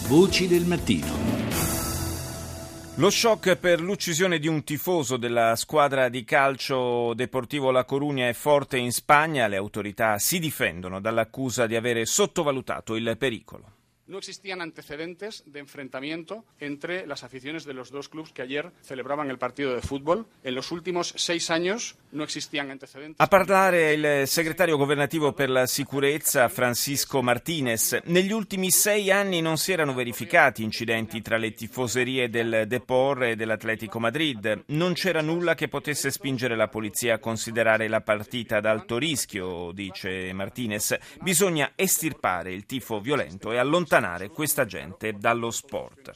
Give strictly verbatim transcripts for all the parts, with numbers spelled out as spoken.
Voci del mattino. Lo shock per l'uccisione di un tifoso della squadra di calcio Deportivo La Coruña è forte in Spagna. Le autorità si difendono dall'accusa di avere sottovalutato il pericolo. No existían antecedentes de enfrentamiento entre las aficiones de los dos clubes que ayer celebraban el partido de fútbol. En los últimos seis años no existían antecedentes. A parlare il segretario governativo per la sicurezza Francisco Martínez. Negli ultimi sei anni non si erano verificati incidenti tra le tifoserie del Depor e dell'Atletico Madrid. Non c'era nulla che potesse spingere la polizia a considerare la partita ad alto rischio, dice Martínez. Bisogna estirpare il tifo violento e allontanare questa gente dallo sport.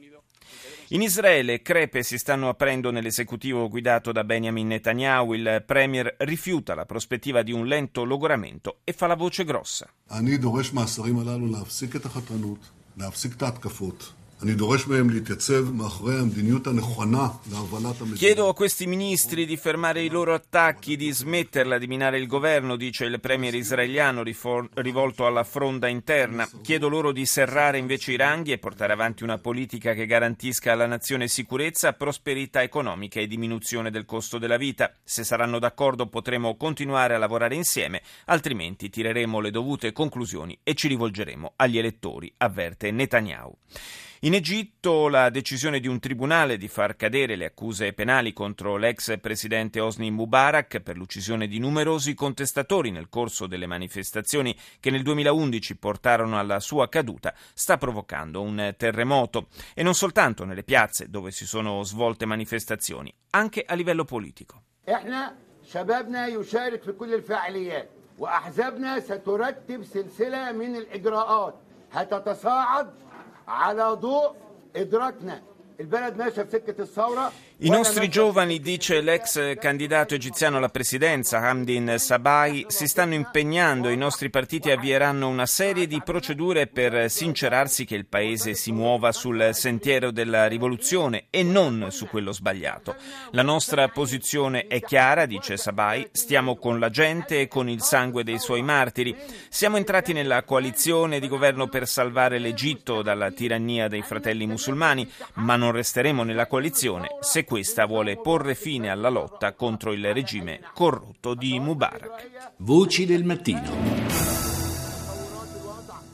In Israele crepe si stanno aprendo nell'esecutivo guidato da Benjamin Netanyahu. Il premier rifiuta la prospettiva di un lento logoramento e fa la voce grossa. אני דורש מהשרים הללו להפסיק את החתרנות, להפסיק את ההתקפות. אני דורש מהם להתייצב מאחורי המדיניות הנכונה להובלת המדינה. Chiedo a questi ministri di fermare i loro attacchi, di smetterla di minare il governo, dice il premier israeliano rivolto alla fronda interna. Chiedo loro di serrare invece i ranghi e portare avanti una politica che garantisca alla nazione sicurezza, prosperità economica e diminuzione del costo della vita. Se saranno d'accordo potremo continuare a lavorare insieme, altrimenti tireremo le dovute conclusioni e ci rivolgeremo agli elettori, avverte Netanyahu. In Egitto la decisione di un tribunale di far cadere le accuse penali contro l'ex presidente Hosni Mubarak per l'uccisione di numerosi contestatori nel corso delle manifestazioni che nel duemilaundici portarono alla sua caduta sta provocando un terremoto, e non soltanto nelle piazze dove si sono svolte manifestazioni, anche a livello politico. احنا شبابنا يشارك في كل الفعاليات واحزابنا سترتب سلسلة من الإجراءات هتتصاعد على ضوء إدراكنا البلد ماشية في سكة الثورة. I nostri giovani, dice l'ex candidato egiziano alla presidenza Hamdin Sabai, si stanno impegnando e i nostri partiti avvieranno una serie di procedure per sincerarsi che il paese si muova sul sentiero della rivoluzione e non su quello sbagliato. La nostra posizione è chiara, dice Sabai, stiamo con la gente e con il sangue dei suoi martiri. Siamo entrati nella coalizione di governo per salvare l'Egitto dalla tirannia dei fratelli musulmani, ma non resteremo nella coalizione se questa vuole porre fine alla lotta contro il regime corrotto di Mubarak. Voci del mattino.